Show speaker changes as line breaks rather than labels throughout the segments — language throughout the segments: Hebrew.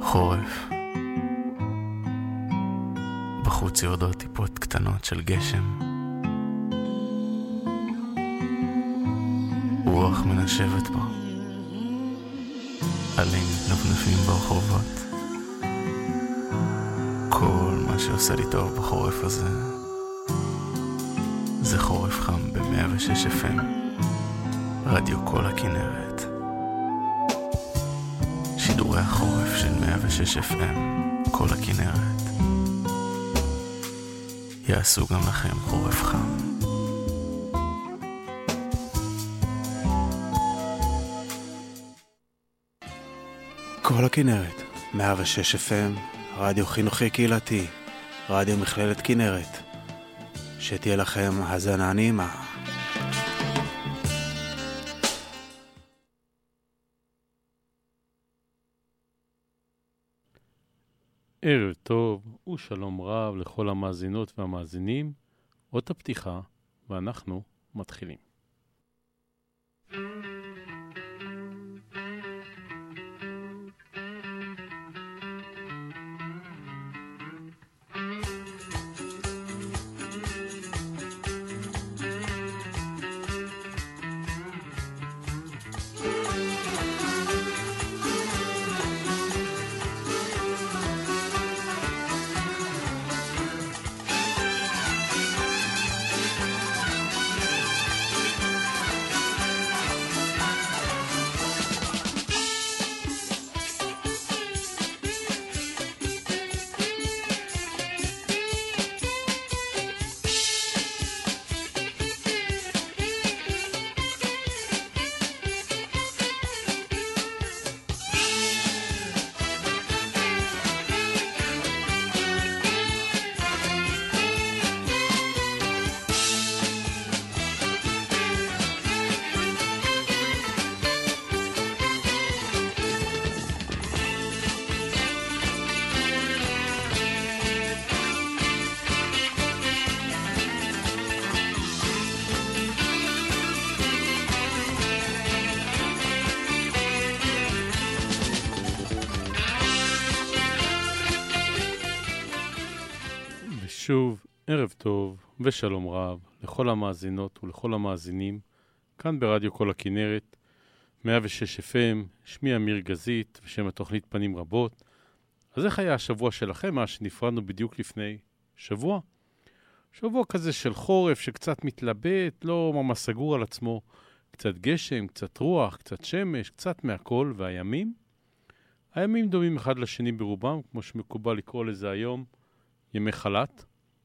חורף. בחוץ יורדות טיפות קטנות של גשם. רוח מנשבת בו. עלים נפנפים ברחובות. כל מה שעושה לי טוב בחורף הזה זה חורף חם ב-106 FM, רדיו כל הכנרת. שידורי החורף של 106 FM, כל הכנרת, יעשו גם לכם חורף חם.
כל הכנרת, 106 FM, רדיו חינוכי קהילתי, רדיו מכללת כנרת. שתהיה לכם האזנה נעימה.
ערב טוב ושלום רב לכל המאזינות והמאזינים. אות הפתיחה ואנחנו מתחילים. שוב, ערב טוב ושלום רב לכל המאזינות ולכל המאזינים כאן ברדיו כל הכנרת 106 FM. שמי אמיר גזית ושם התוכנית פנים רבות. אז איך היה השבוע שלכם? מה שנפרדנו בדיוק לפני שבוע? שבוע כזה של חורף שקצת מתלבט, לא ממש סגור על עצמו. קצת גשם, קצת רוח, קצת שמש, קצת מהכל. והימים? הימים דומים אחד לשני ברובם, כמו שמקובל לקרוא לזה היום, ימי חלת.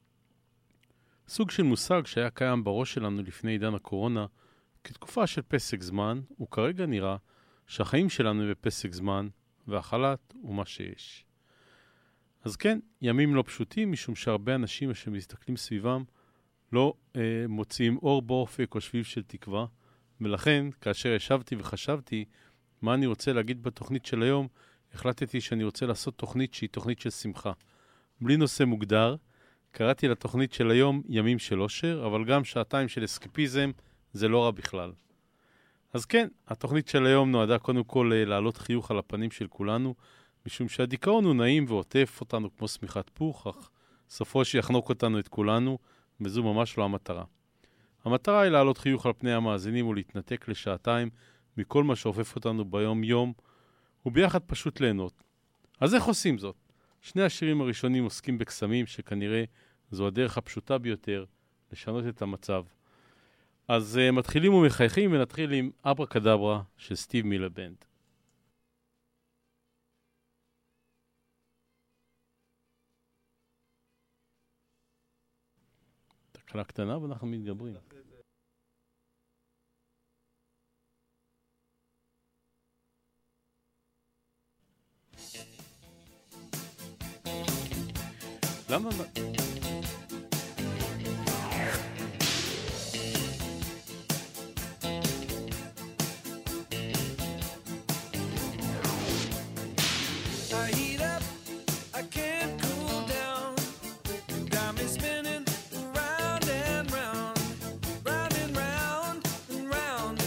סוג של מושג שהיה קיים בראש שלנו לפני עידן הקורונה כתקופה של פסק זמן, וכרגע נראה שהחיים שלנו הם בפסק זמן והחלת הוא מה שיש. אז כן, ימים לא פשוטים, משום שהרבה אנשים שמסתכלים סביבם לא מוצאים אור באופק או שביב של תקווה, ולכן כאשר ישבתי וחשבתי מה אני רוצה להגיד בתוכנית של היום, החלטתי שאני רוצה לעשות תוכנית שהיא תוכנית של שמחה. בלי נושא מוגדר, קראתי לתוכנית של היום ימים של אושר, אבל גם שעתיים של אסקפיזם, זה לא רע בכלל. אז כן, התוכנית של היום נועדה קודם כל להעלות חיוך על הפנים של כולנו, משום שהדיכאון הוא נעים ועוטף אותנו כמו שמיכת פוך, אך סופו שיחנוק אותנו את כולנו, וזו ממש לא המטרה. המטרה היא להעלות חיוך על פני המאזינים ולהתנתק לשעתיים מכל מה שעופף אותנו ביום יום, וביחד פשוט ליהנות. אז איך עושים זאת? שני השירים הראשונים עוסקים בקסמים שכנראה זו הדרך הפשוטה ביותר לשנות את המצב. אז מתחילים ומחייכים ונתחיל עם אברה קדברה של סטיב מילר בנד. תקלה קטנה ואנחנו מתגברים. למה?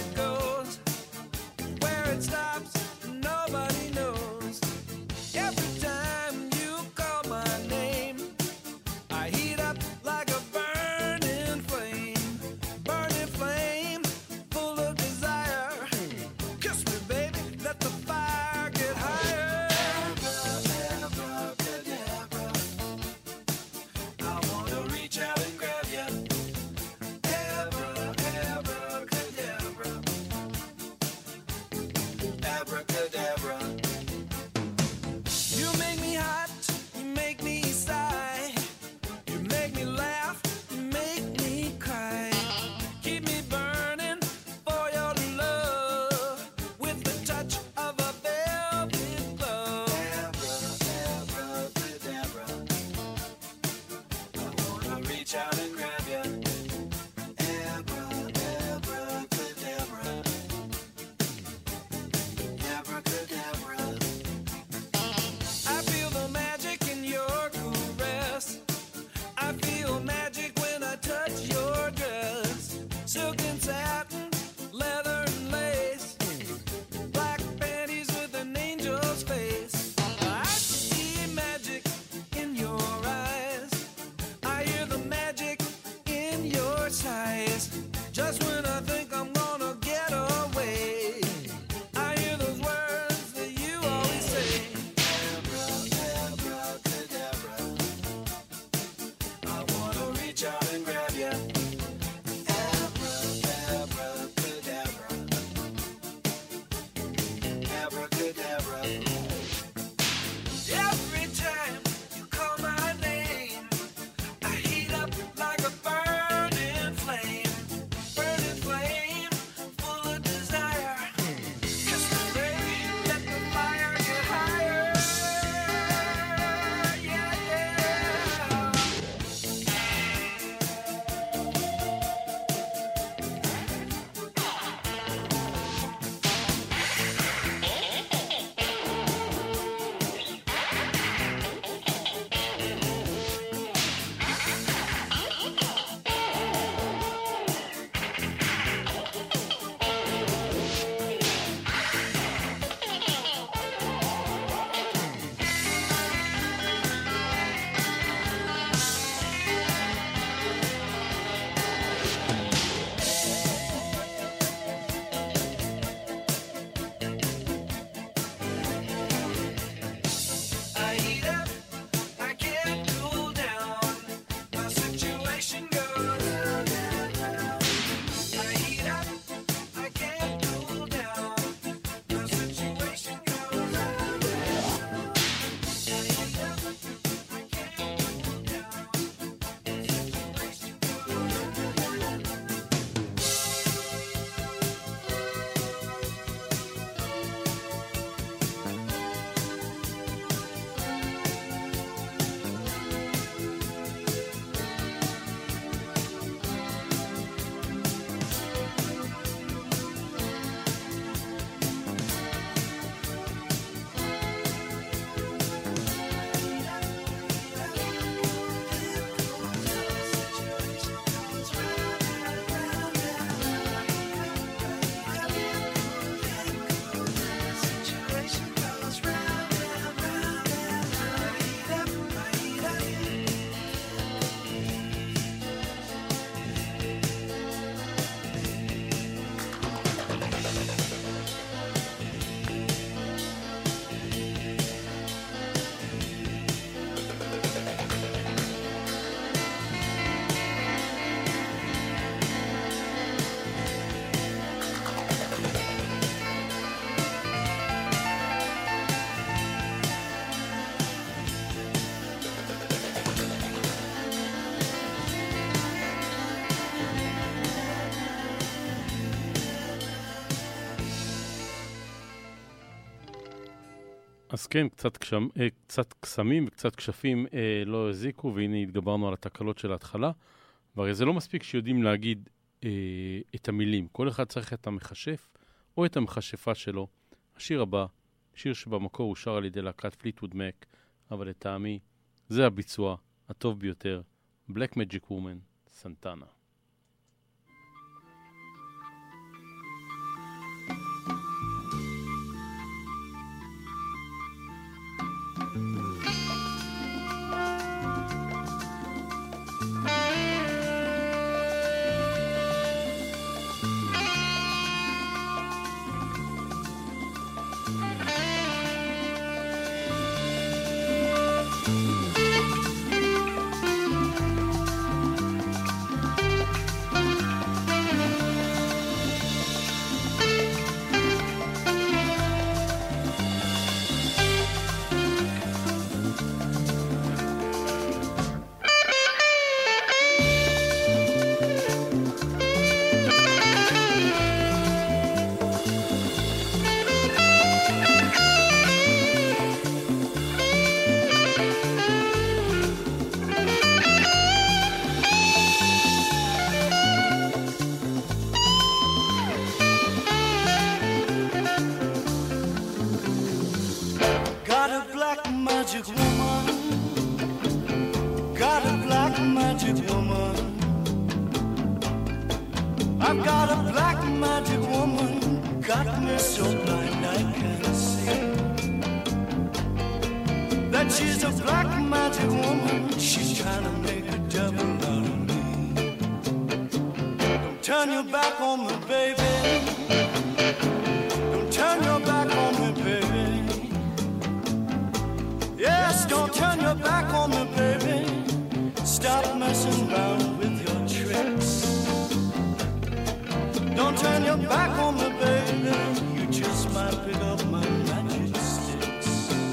Every
אז כן, קצת קסמים וקצת כשפים לא הזיקו, והנה התגברנו על התקלות של ההתחלה. והרי זה לא מספיק שיודעים להגיד את המילים. כל אחד צריך את המחשף או את המחשפה שלו. השיר הבא, שיר שבמקור אושר על ידי להקת פליטווד מק, אבל לטעמי זה הביצוע הטוב ביותר. Black Magic Woman, סנטנה.
I've got a black magic woman, got me so blind I can't see. That she's a black magic woman, she's trying to make a devil out of me. Don't turn your back on me, baby. Don't turn your back on me, baby. Yes, don't turn your back on me, baby. Stop messing around with your tricks. Don't turn your back on me, baby. You just might pick up my magic sticks.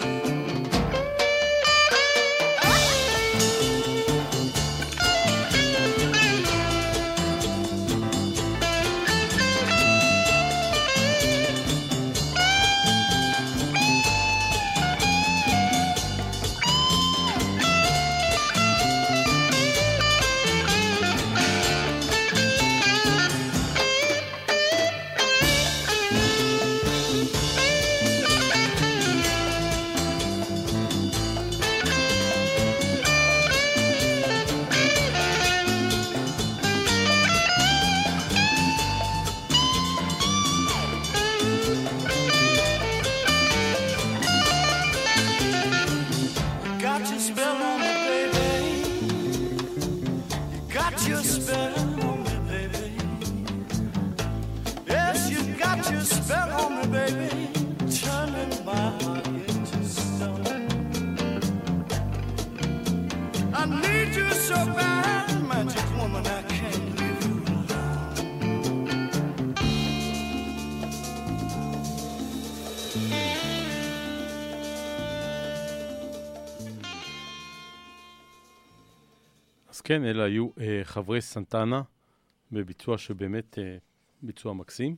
כן, אלה היו חברי סנטנה, בביצוע שבאמת ביצוע מקסים.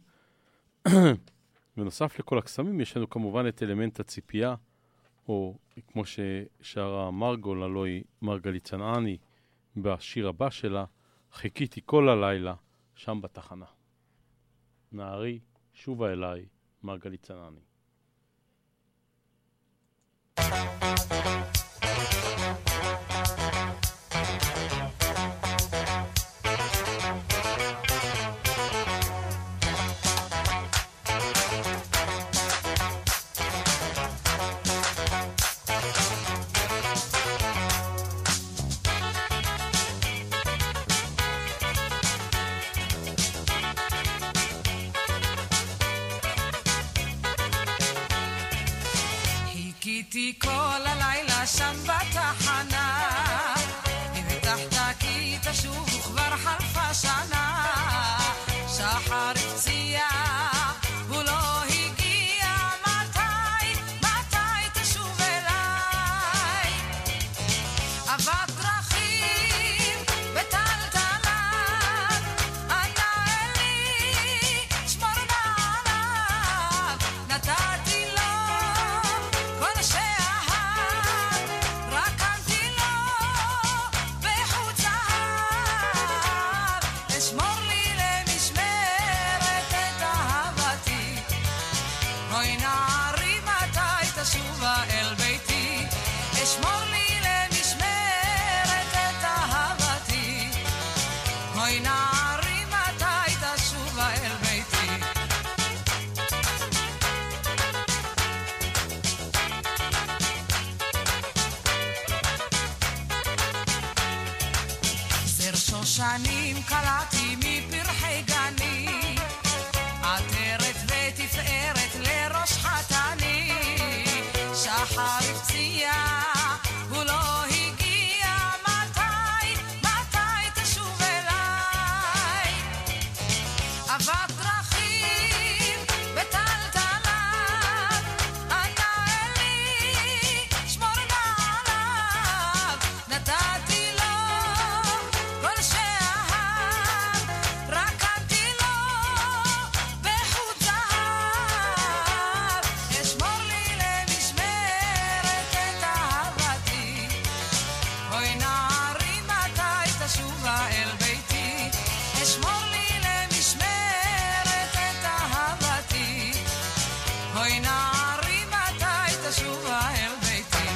בנוסף לכל הקסמים, יש לנו כמובן את אלמנט הציפייה, או כמו ששרה מרגול, הלוי מרגלית צנעני, בשיר הבא שלה, חיכיתי כל הלילה, שם בתחנה. נערי, שובה אליי, מרגלית צנעני.
חיכיתי כל הלילה שם בתחנה, הבטחת כי תשוב כבר חלפה שנה, שחר הפציע הוא לא הגיע, מתי תשוב אליי? אבק דרכים בטלטלן, ענה אלי שמור נעליו, נתתי לו כל אשמור לי למשמרת את אהבתי. אוי נערי מתי תשובה אל ביתי. זר שושנים קלעתי מפרחי גני, עטרת ותפארת לראש חתני. שחר הפציע הוא לא הגיע, מתי תשוב אליי. אבק דרכים בטלטליו, אנא אלי שמור נעליו. נתתי לו כל שאהב, רקמתי לו בחוט זהב. אשמור לי למשמרת את אהבתי. אוי נערי מתי תשובה אל ביתי. אשמור לי למשמרת את אהבתי. אוי נערי מתי תשובה אל ביתי.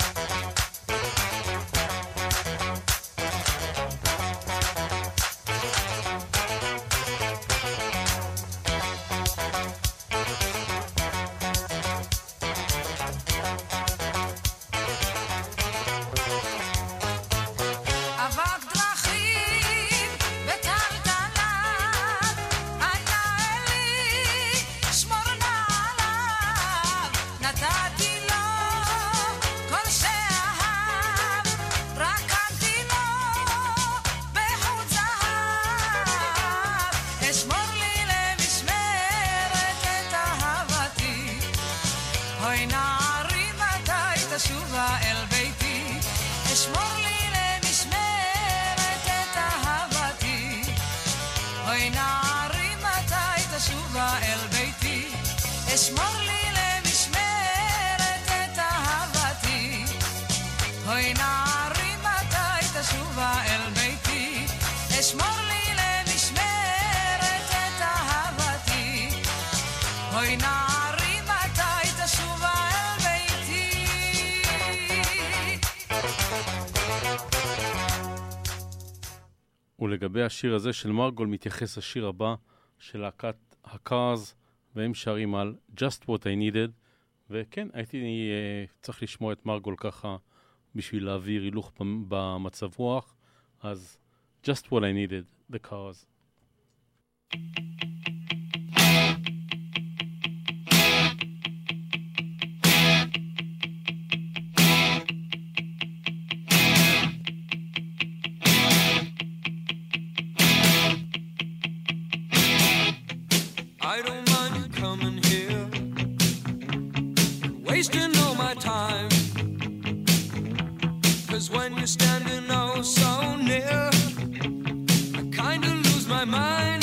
אבק דרכים בטלטליו, אנא אלי שמור נעליו. נתתי לו כל שאהב, רקמתי לו בחוט זהב. אשמור לי למשמרת את אהבתי. אוי נערי מתי תשובה אל ביתי. אשמור לי למשמרת את אהבתי. אוי נערי מתי תשובה אל ביתי. אשמור לי למשמרת את אהבתי. אוי נערי מתי תשובה אל ביתי. אשמור לי למשמרת את אהבתי. אוי נערי מתי תשובה אל ביתי.
ולגבי השיר הזה של מרגול מתייחס השיר הבא של להקת הקארס, והם שרים על Just What I Needed. וכן, הייתי צריך לשמוע את מרגול ככה בשביל להעביר הילוך במצב רוח. אז Just What I Needed, The Cars.
I don't mind you coming here, wasting all my time. 'Cause when you're standing oh so near, I kinda lose my mind.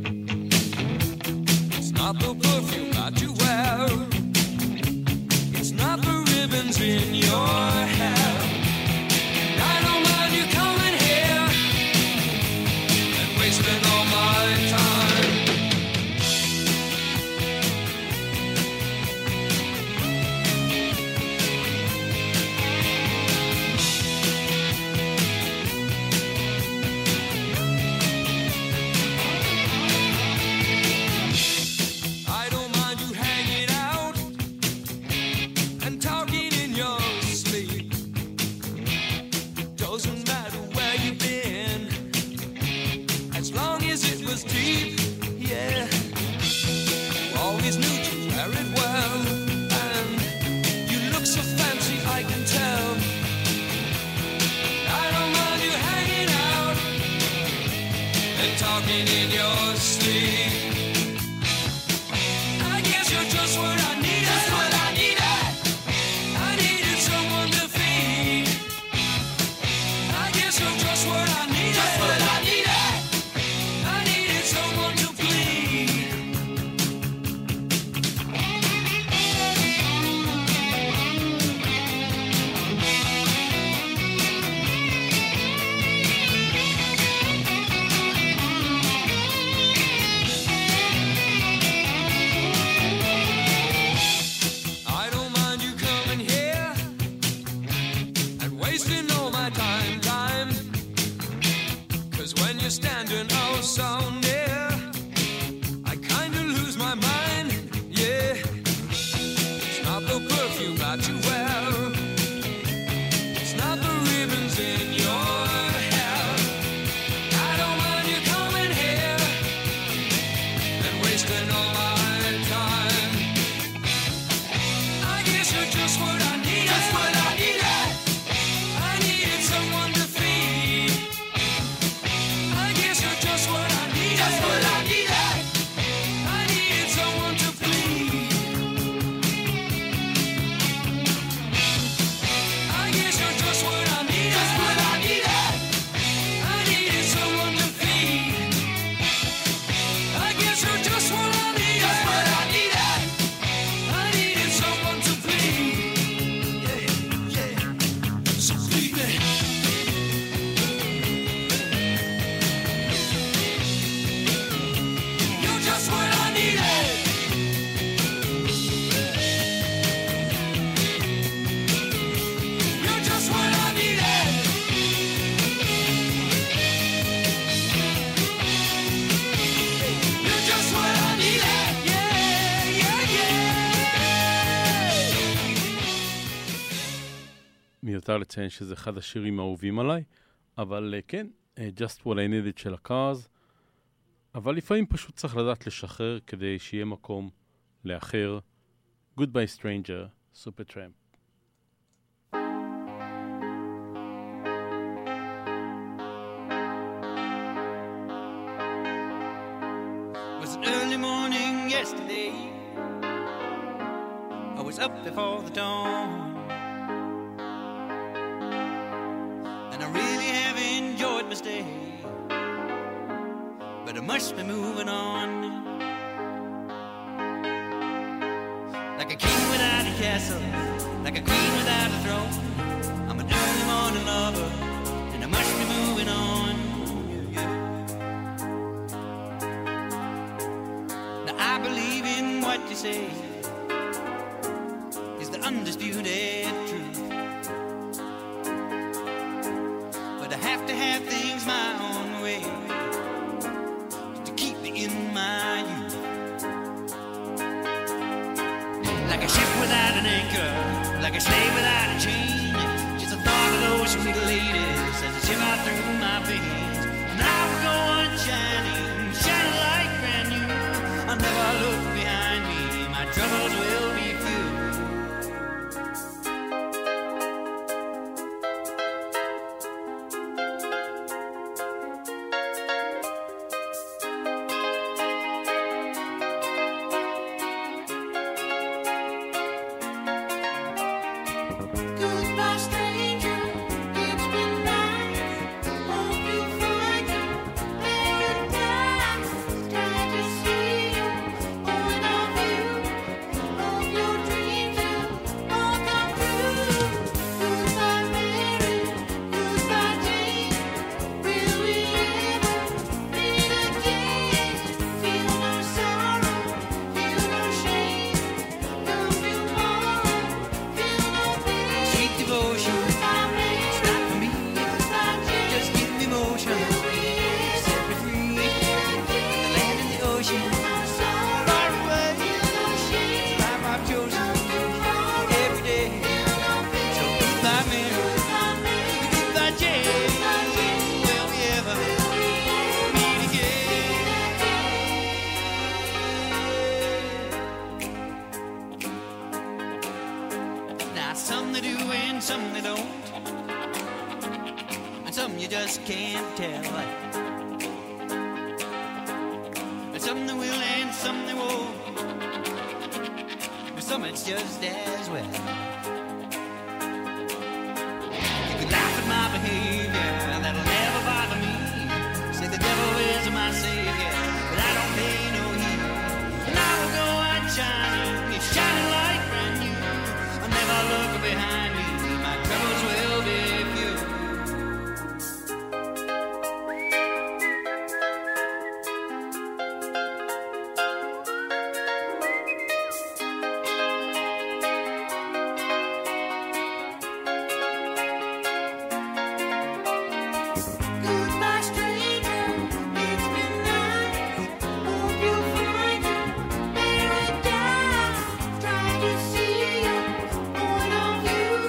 It's not the perfume that you wear, it's not the ribbons in your hair. I don't mind you coming here and wasting all my time. I don't mind you hanging out and talking in your sleep. Doesn't matter where you've been, as long as it was deep, yeah. You always knew to wear it well, and you look so fancy, I can tell. I don't mind you hanging out and talking in your sleep. I guess you're just what I needed. Just what I needed. I needed someone to feed. I guess you're just what I needed. Just what I needed. I needed someone to bleed. you're just what I needed. Just what I needed. I needed someone to feed. I guess you're just what I needed. Just what I needed. I needed someone to plead. I guess you're just what I needed. Just what I needed. I needed someone to feed. I guess you're just what I needed. Just what I needed. I needed someone to plead. Yeah, yeah. So please me. You're just what I needed. You're just what I needed. You're just what I needed. Yeah, yeah, yeah.
מיותר לציין שזה אחד השירים האהובים עליי, אבל כן, Just What I Needed של הקארס, אבל לפעמים פשוט צריך לדעת לשחרר כדי שיהיה מקום לאחר. Goodbye Stranger, Supertramp.
It was an early morning yesterday. I was up before the dawn, and I really have enjoyed my stay, but I must be moving on. Like a king without a castle, like a queen without a throne, I'm an early morning lover, and I must be moving on. Yeah. Now I believe in what you say is the undisputed truth, but I have to have things my own way to keep me in my youth. Like a ship without an anchor, like a slave without a chain, just the thought of those sweet ladies as they shiver through my veins. And I will go on shining, shining like brand new. I'll never look behind me, my troubles will be few.
Goodbye, stranger. It's been nice. Hope you find your paradise. Try to see your point of view. Hope your dreams will all come true. Goodbye, Mary. Goodbye, Jane. Will we ever meet again? Feel no sorrow. Feel no shame. Come tomorrow. Feel no pain.
Sweet devotion, it's not for me. Just give me motion, set me free. The land and the ocean, far away. Life I've chosen every day. So goodbye, Mary. Goodbye, Jane. Will we ever meet again? Now some they do and some they don't, and some you just can't tell. And some they will and some they won't, but some it's just as well. You can laugh at my behavior, that'll never bother me. Say the devil is my savior, but I don't pay no heed. And I will go on shining, it's shining like brand new. I'll never look behind me, my troubles will be few.
Goodbye, stranger. It's been nice. Hope you find your paradise. Try to see your point of view.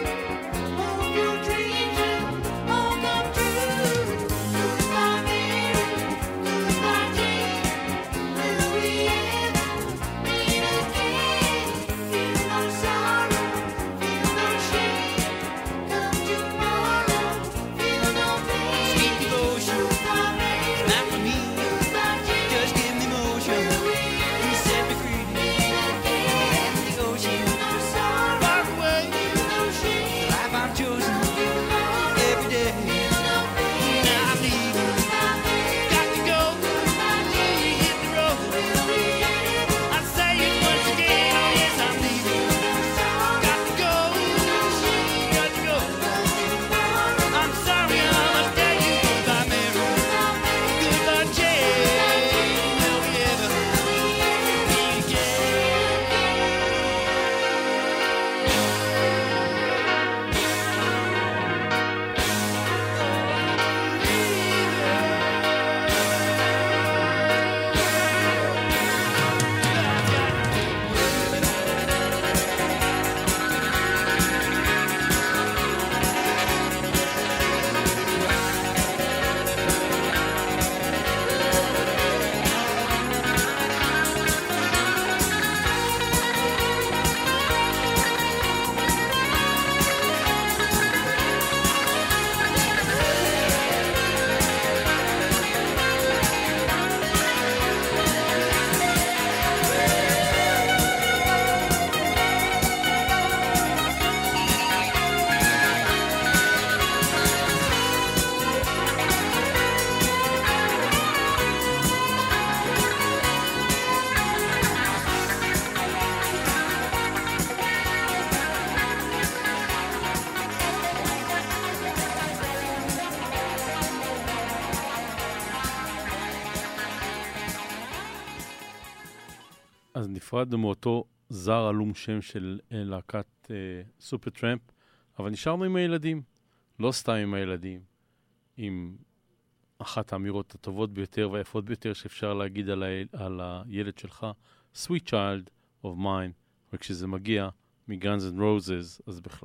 נפרדנו מאותו זר עלום שם של להקת סופר טרמפ, אבל נשארנו עם הילדים, לא סתם עם הילדים, עם אחת האמירות הטובות ביותר והיפות ביותר שאפשר להגיד על הילד שלך, Sweet Child of Mine, וכשזה מגיע מ-Guns N' Roses, אז בכלל.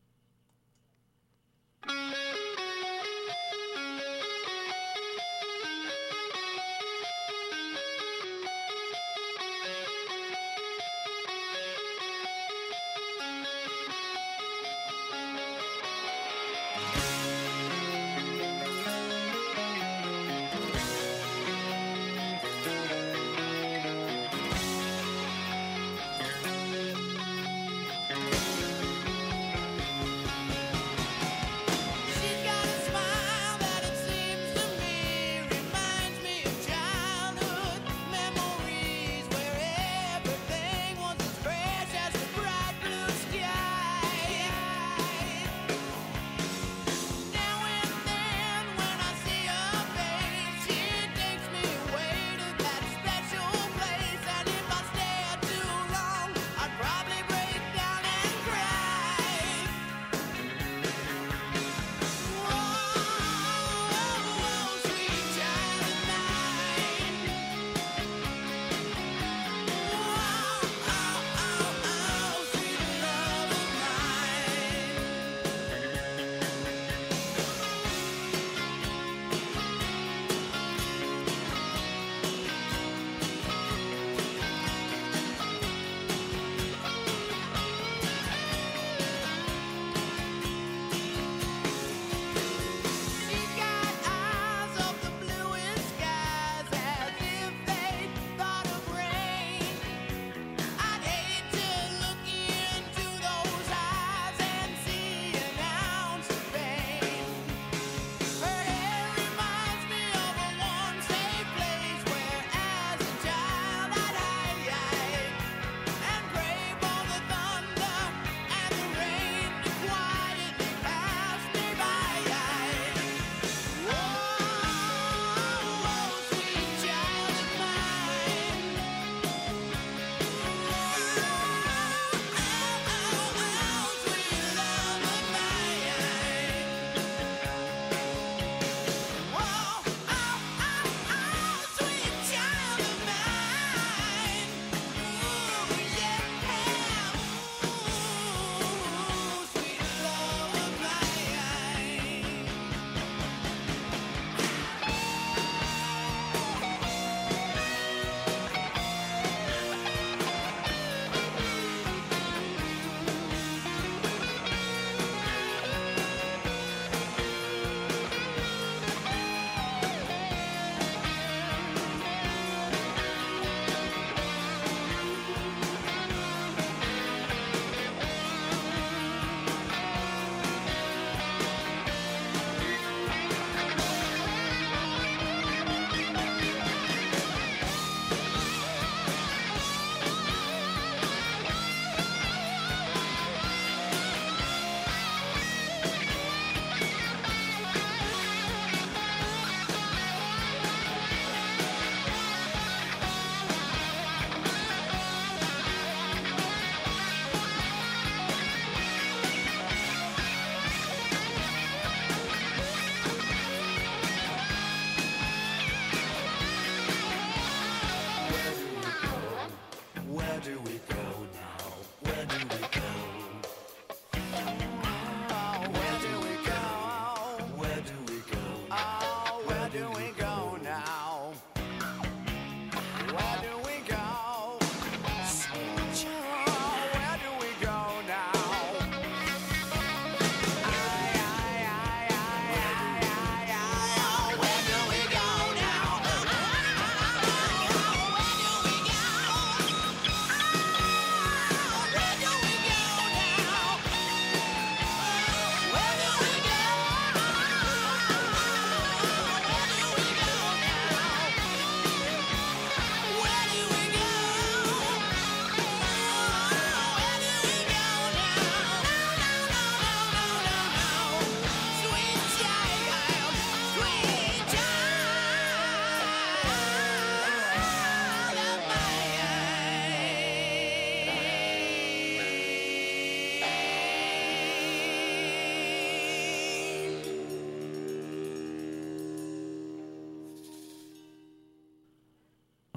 She's got a smile that it seems to me reminds me of childhood memories where everything was as fresh as the bright blue sky.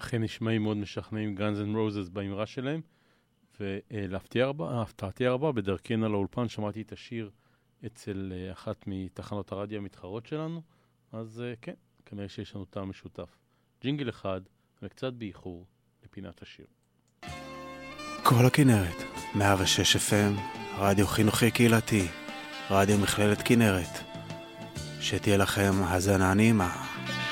אכן נשמעים מאוד משכנעים Guns N' Roses באמרה שלהם, ולהפתעתי הרבה, בדרכנה לאולפן שמעתי את השיר אצל אחת מתחנות הרדיו המתחרות שלנו, אז כן, כנראה שיש לנו טעם משותף. ג'ינגל אחד, וקצת באיחור, לפינת השיר.
כל הכנרת, 106 FM, רדיו חינוכי קהילתי, רדיו מכללת כנרת. שתהיה לכם האזנה נעימה.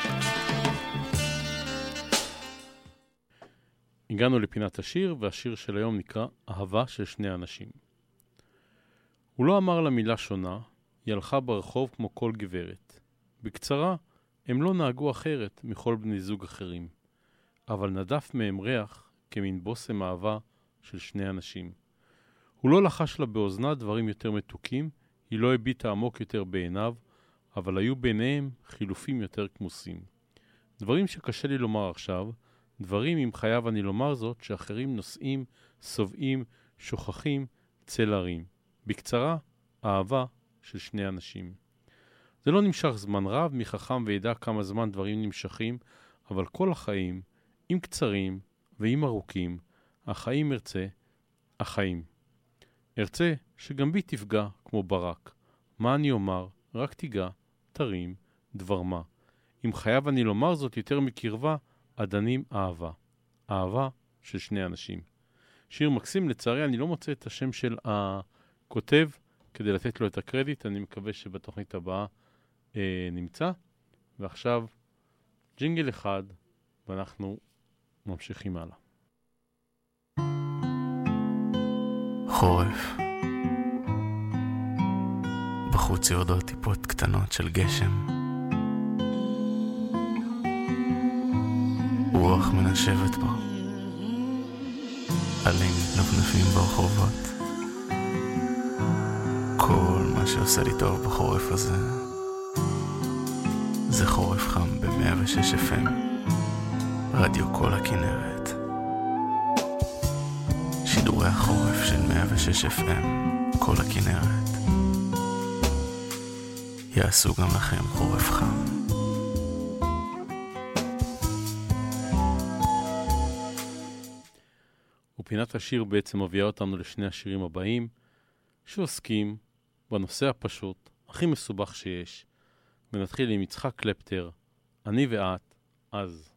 הגענו לפינת השיר, והשיר של היום נקרא אהבה של שני אנשים. הוא לא אמר לה מילה שונה, היא הלכה ברחוב כמו כל גברת. בקצרה, הם לא נהגו אחרת מכל בני זוג אחרים, אבל נדף מהם ריח כמין בוסם אהבה של שני אנשים. הוא לא לחש לה באוזנה דברים יותר מתוקים, היא לא הביטה עמוק יותר בעיניו, אבל היו ביניהם חילופים יותר כמוסים. דברים שקשה לי לומר עכשיו, דברים אם חייב אני לומר זאת, שאחרים נושאים, סובעים, שוכחים, צל הרים. בקצרה, אהבה של שני אנשים. זה לא נמשך זמן רב, מי חכם וידע כמה זמן דברים נמשכים, אבל כל החיים, אם קצרים ואם ארוכים, החיים ארצה, החיים. ארצה שגם בי תפגע כמו ברק. מה אני אומר? רק תיגע, תרים, דבר מה. אם חייב אני לומר זאת יותר מקרבה, עדנים אהבה. אהבה של שני אנשים. שיר מקסים, לצערי אני לא מוצא את השם של הכותב כדי לתת לו את הקרדיט, אני מקווה שבתוכנית הבאה נמצא. ועכשיו ג'ינגל אחד ואנחנו ממשיכים הלאה.
חורף. בחוץ יורדות טיפות קטנות של גשם. רוח מנשבת בו. עלים מתנפנפים ברחובות. כל מה שעושה לי טוב בחורף הזה זה חורף חם ב-106 FM, רדיו כל הכנרת. שידורי החורף של 106 FM, כל הכנרת, יעשו גם לכם חורף חם.
ופינת השיר בעצם מביאה אותנו לשני השירים הבאים, שעוסקים בנושא הפשוט, הכי מסובך שיש. ונתחיל עם יצחק קלפטר, אני ואת, אז.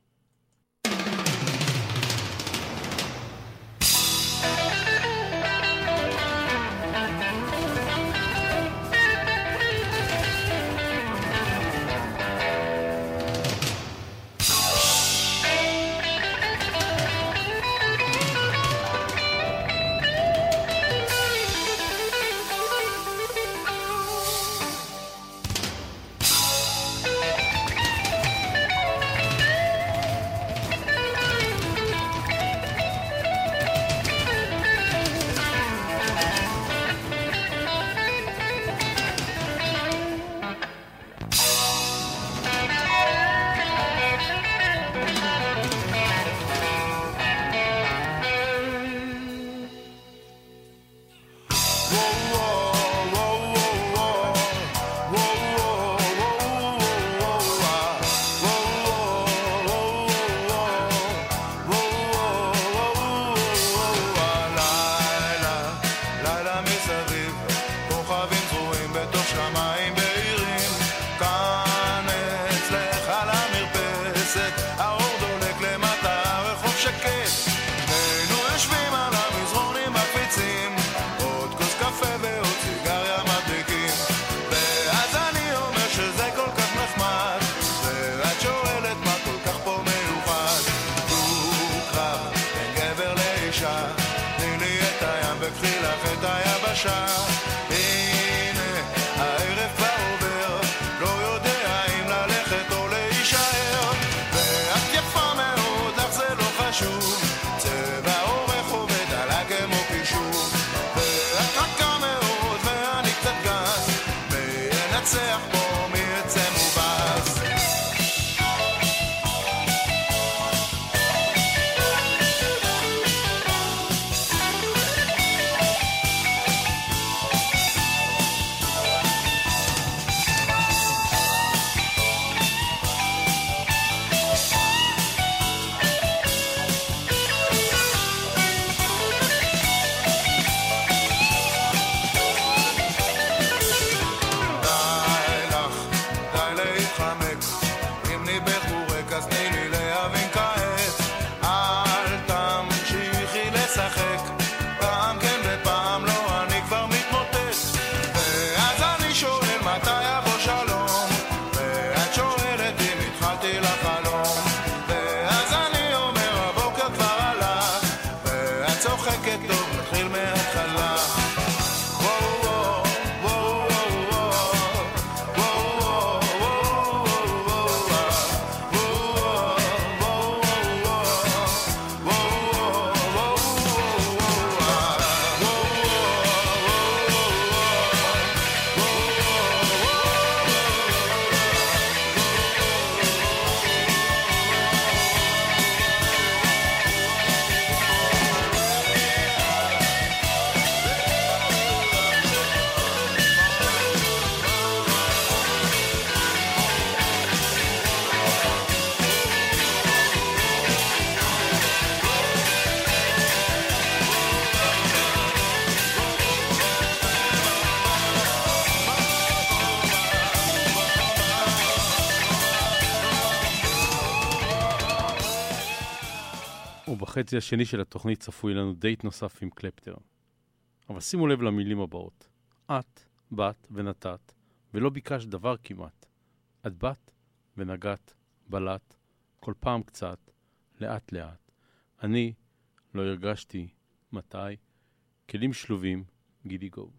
בחצי השני של התוכנית צפוי לנו דייט נוסף עם קלפטר. אבל שימו לב למילים הבאות. את באת ונתת, ולא ביקשת דבר כמעט. את באת ונגעת, בלט, כל פעם קצת, לאט לאט. אני לא הרגשתי מתי, כלים שלובים, גידי גוב.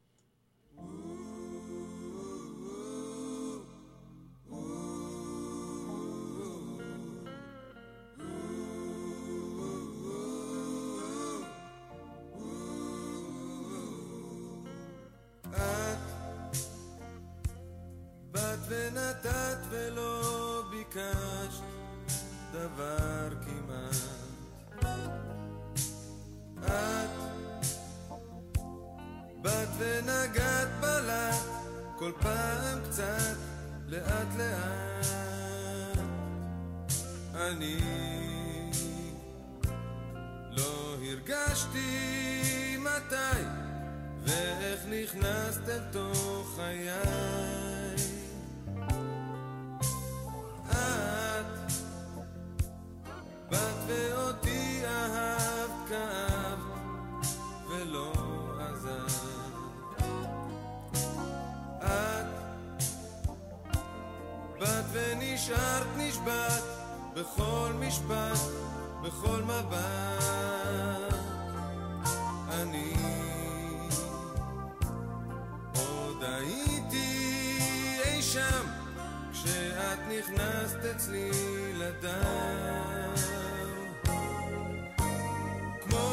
באת ונתת ולא ביקשת דבר כמעט. את באת ונגעת בלט, כל פעם קצת, לאט לאט. אני לא הרגשתי מתי ואיך נכנסת אל תוך חיי. את באת ואותי אהבת, כאבת ולא עזבת. את באת ונשארת נשבעת בכל משפט, בכל מבט. אני עוד הייתי אי שם כשאת נכנסת אצלי לדם. כמו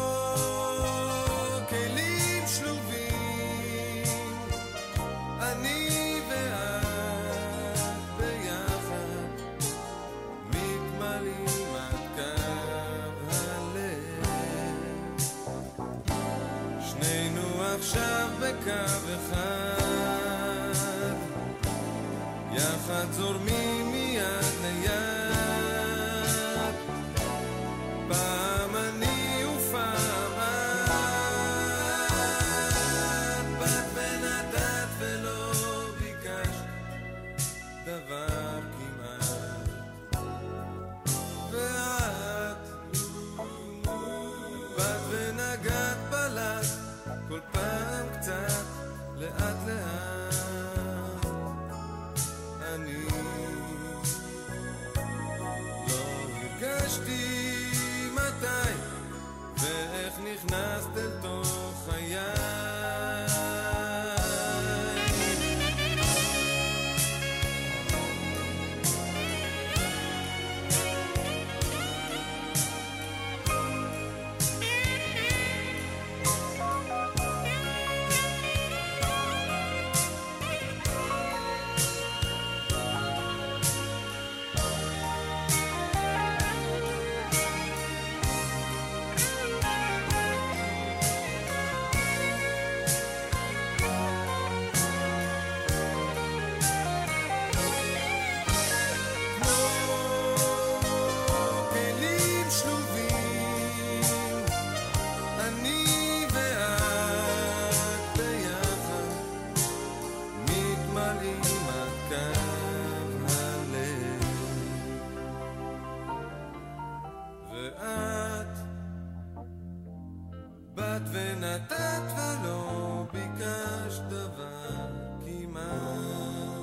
כלים שלובים, אני ואת ביחד מתמלאים עד קו הלב. שנינו עכשיו בקו אחד, יחד זורמים מיד ליד, פעם אני ופעם את. באת ונתת ולא ביקשת דבר כמעט. ואת באת ונגעת בלט, כל פעם קצת, לאט לאט. אני לא הרגשתי מתי ואיך נכנסת אל תוך חיי. ונתת ולא ביקשת דבר כמעט.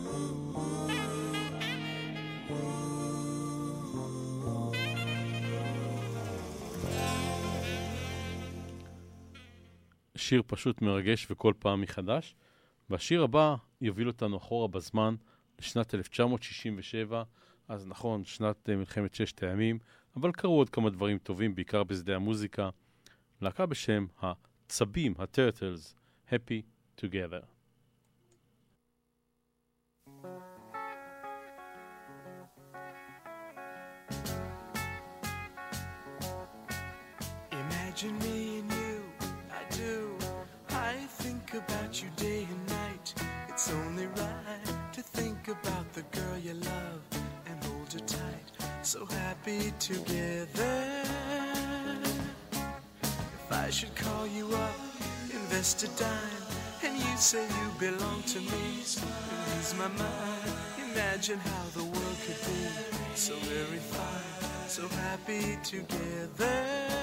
שיר פשוט מרגש וכל פעם מחדש, והשיר הבא יוביל אותנו אחורה בזמן לשנת 1967, אז נכון, שנת מלחמת ששת הימים, אבל קרו עוד כמה דברים טובים, בעיקר בשדה המוזיקה. להקה בשם הצבים, הטרטלס, Happy Together.
Imagine me and you, I do. I think about you day and night. It's only right to think about the girl you love and hold her tight. So happy together. If I should call you up, invest a dime, and you say you belong to me, and lose my mind. Imagine how the world could be so very fine, so happy together.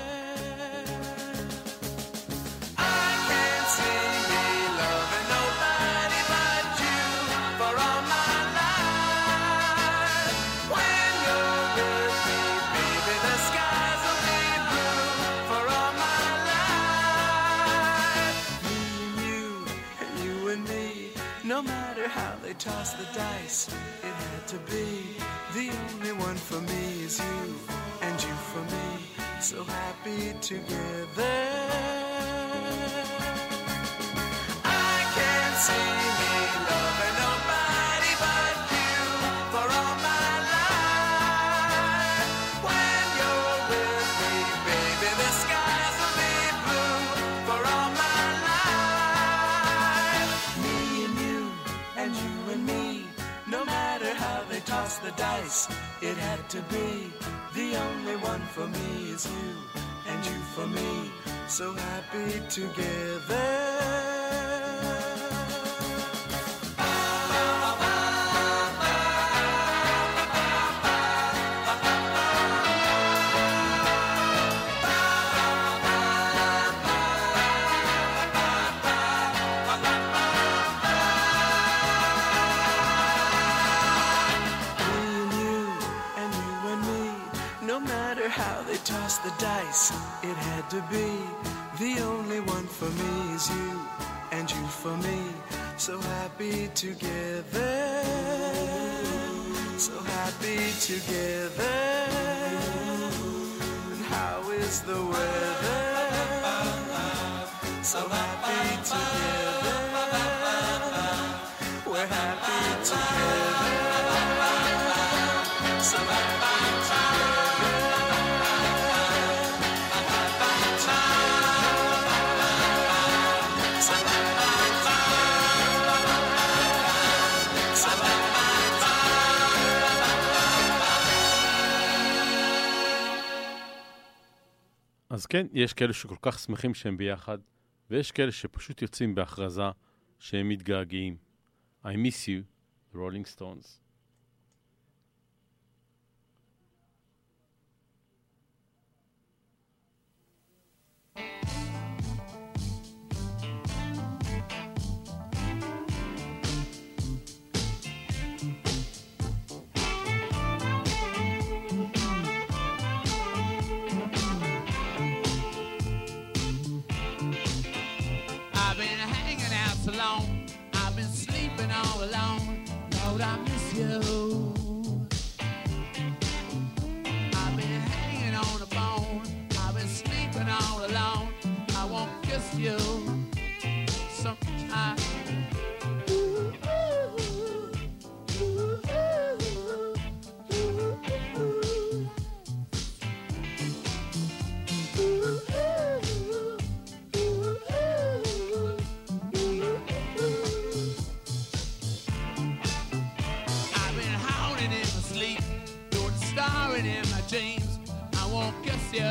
I can't see me loving nobody but you for all my life. When you're with me, baby, the skies will be blue for all my life. Me and you and me, no matter how they toss the dice, it had to be. The only one for me is you, and you for me, so happy together. I can't see me loving nobody but you for all my life. When you're with me, baby, the skies will be blue for all my life. Me and you and me, no matter how they toss the dice, it had to be. The only one for me is you, and you for me, so happy together. Toss the dice, it had to be. The only one for me is you, and you for me, so happy together. So happy together. And how is the weather? So happy together. We're happy together. So happy together.
אז כן, יש כאלה שכל כך שמחים שהם ביחד, ויש כאלה שפשוט יוצאים בהכרזה שהם מתגעגעים. I miss you, the Rolling Stones.
I've been sleeping all alone. Lord, I miss you. I've been hanging on a bone. I've been sleeping all alone. I won't kiss you. Sometimes. In my dreams, I won't kiss you.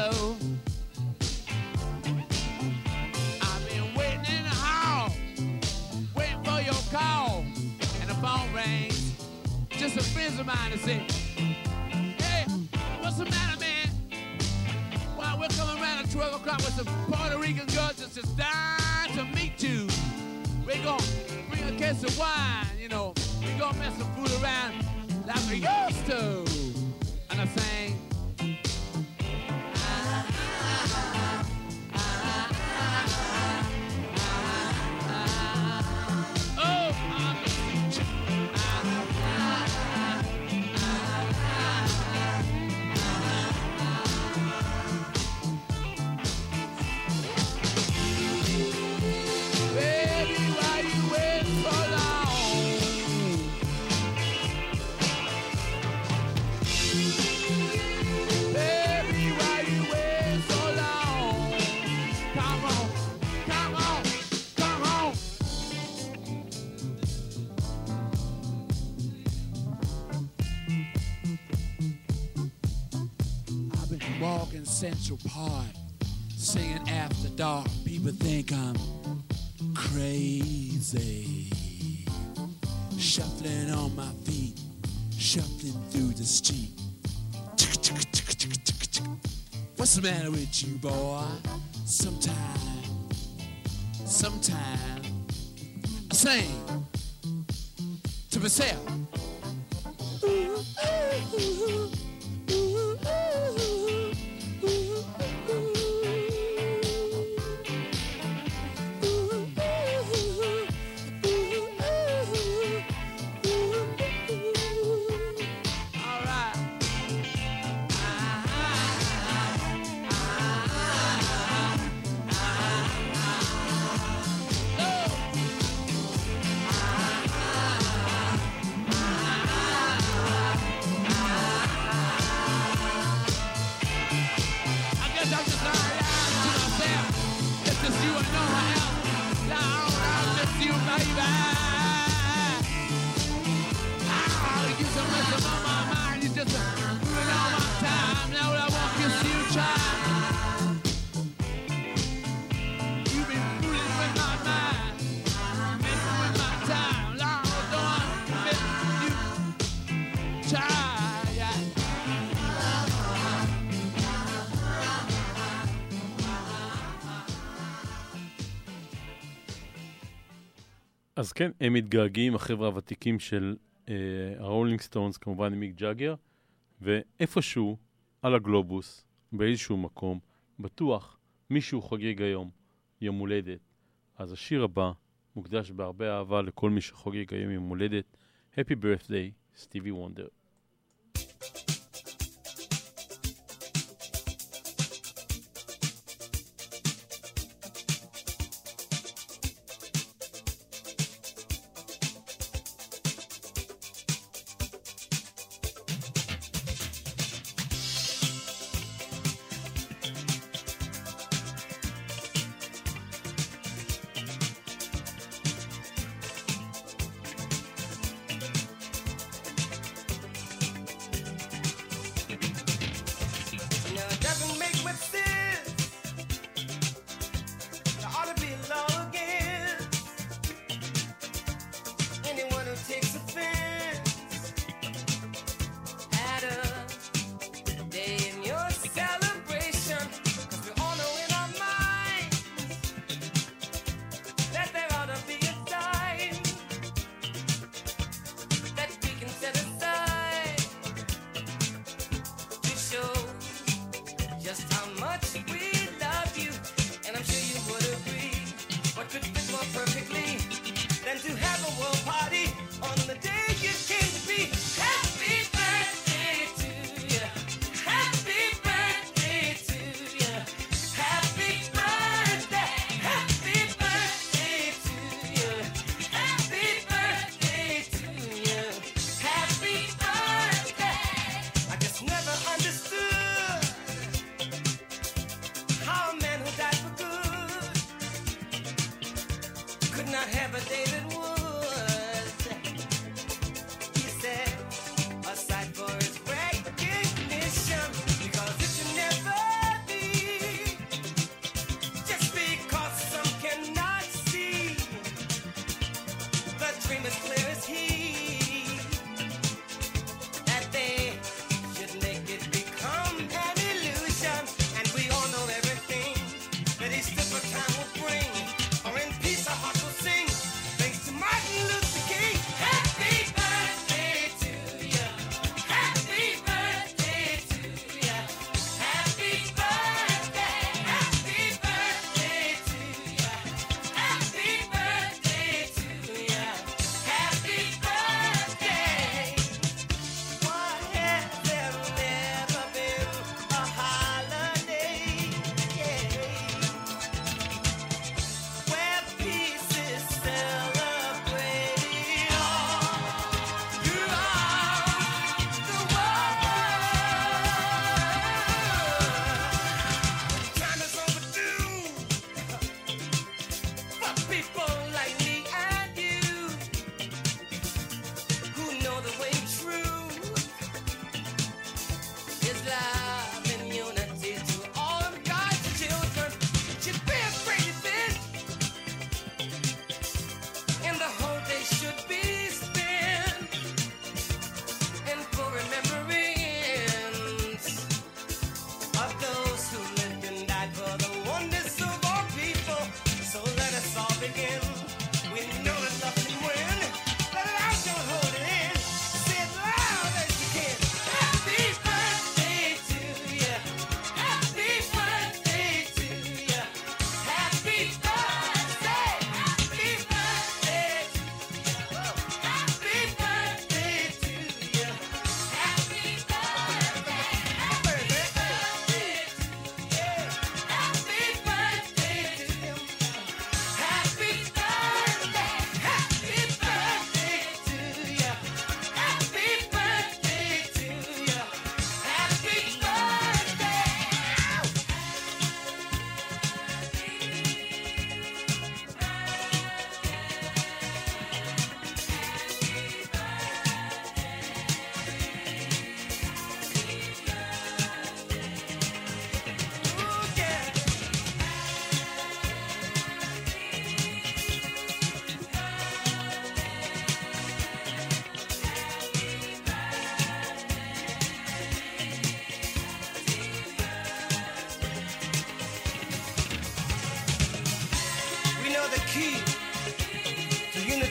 I've been waiting in the hall, waiting for your call, and the phone rings. Just a friend of mine to say, hey, what's the matter, man? Well, we're coming around at 12 o'clock with some Puerto Rican girls just dying to meet you. We're gonna bring a case of wine, you know. We're gonna mess some food around like we used to. And I sang, baby, why you wait so long? Baby, why you wait so long? Come on, come on, come on. I've been walking Central Park, singing After Dark. People think I'm crazy. Shuffling on my feet, shuffling through the street. What's the matter with you, boy? Sometime, I sing to myself.
אז כן, הם מתגעגעים, החבר'ה הוותיקים של הרולינג סטונס, כמובן עם מיק ג'אגר, ואיפשהו על הגלובוס, באיזשהו מקום, בטוח מישהו חוגג היום יום הולדת. אז השיר הבא מוקדש בהרבה אהבה לכל מי שחוגג היום יום הולדת. Happy Birthday, סטיבי וונדר.
Happy birthday.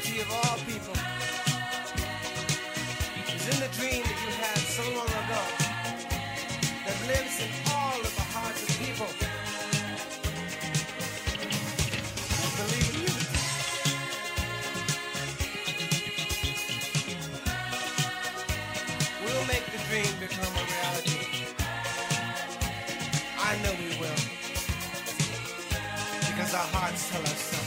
reality of all people is in the dream that you had so long ago that lives in all of the hearts of people. Believe in unity. We'll make the dream become a reality. I know we will. Because our hearts tell us so.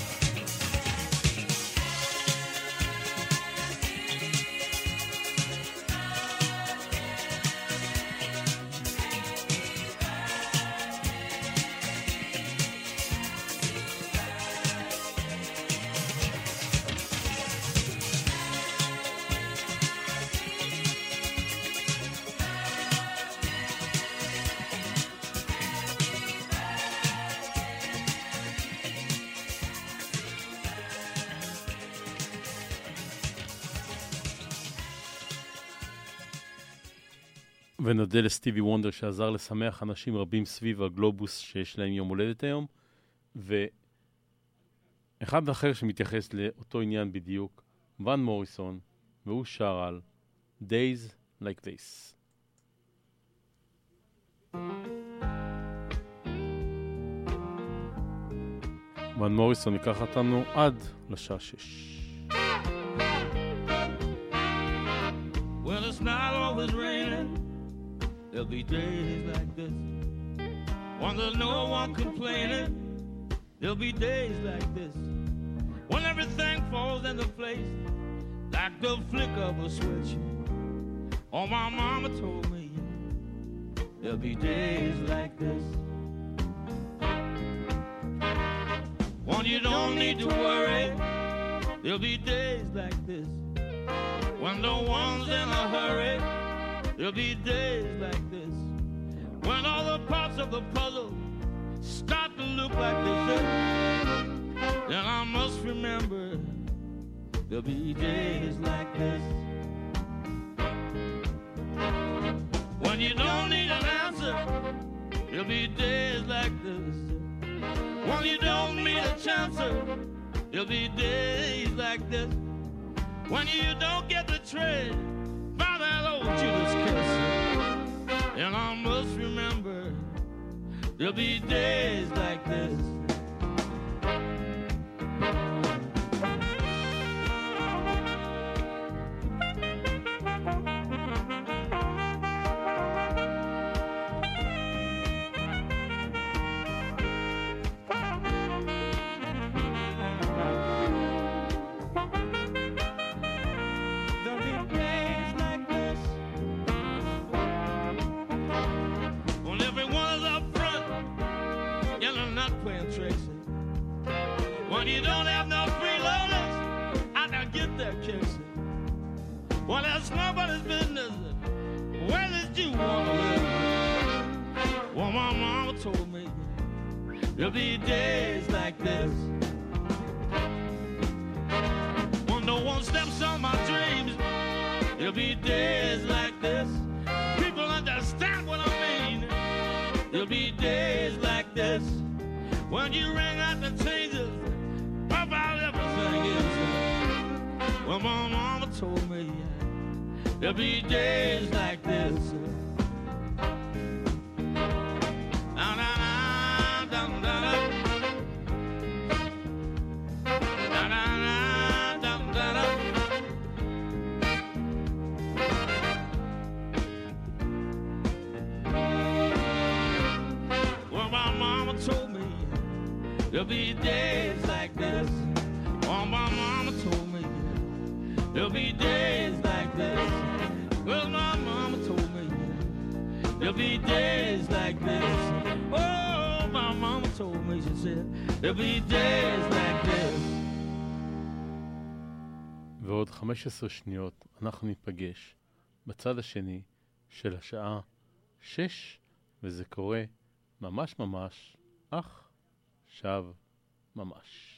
ונודה לסטיבי וונדר שעזר לשמח אנשים רבים סביב הגלובוס שיש להם יום הולדת היום. ואחד אחר שמתייחס לאותו עניין בדיוק, ון מוריסון, והוא שר על Days Like This. ון מוריסון ייקח אותנו עד לשעה 6.
Well, it's not always raining. There'll be days like this when there's no one complaining. There'll be days like this when everything falls into place like the flick of a switch. Oh, my mama told me there'll be days like this when you don't need to worry. There'll be days like this when no one's in a hurry. There'll be days like this when all the parts of the puzzle start to look like they fit. Then I must remember there'll be days like this when you don't need an answer. There'll be days like this when you don't need a chancer. There'll be days like this when you don't get the trade by that old Judas kiss. And I must remember there'll be days like this. You don't have no freeloaders, I don't get their kissing. Well, that's nobody's business. Where did you want to live? Well, my mama told me there'll be days like this when no one steps on my dreams. There'll be days like this. People understand what I mean. There'll be days like this when you ring out the changes about everything is. Well, my mama told me there'll be days like this. Well, my mama told me there'll be days like this. Oh, my mama told me there'll be days like this. Well, my mama told me there'll be days like this. Oh, my mama told me, she said there'll be days like this.
ועוד 15 שניות אנחנו ניפגש בצד השני של השעה 6, וזה קורה ממש ממש עכשיו ממש.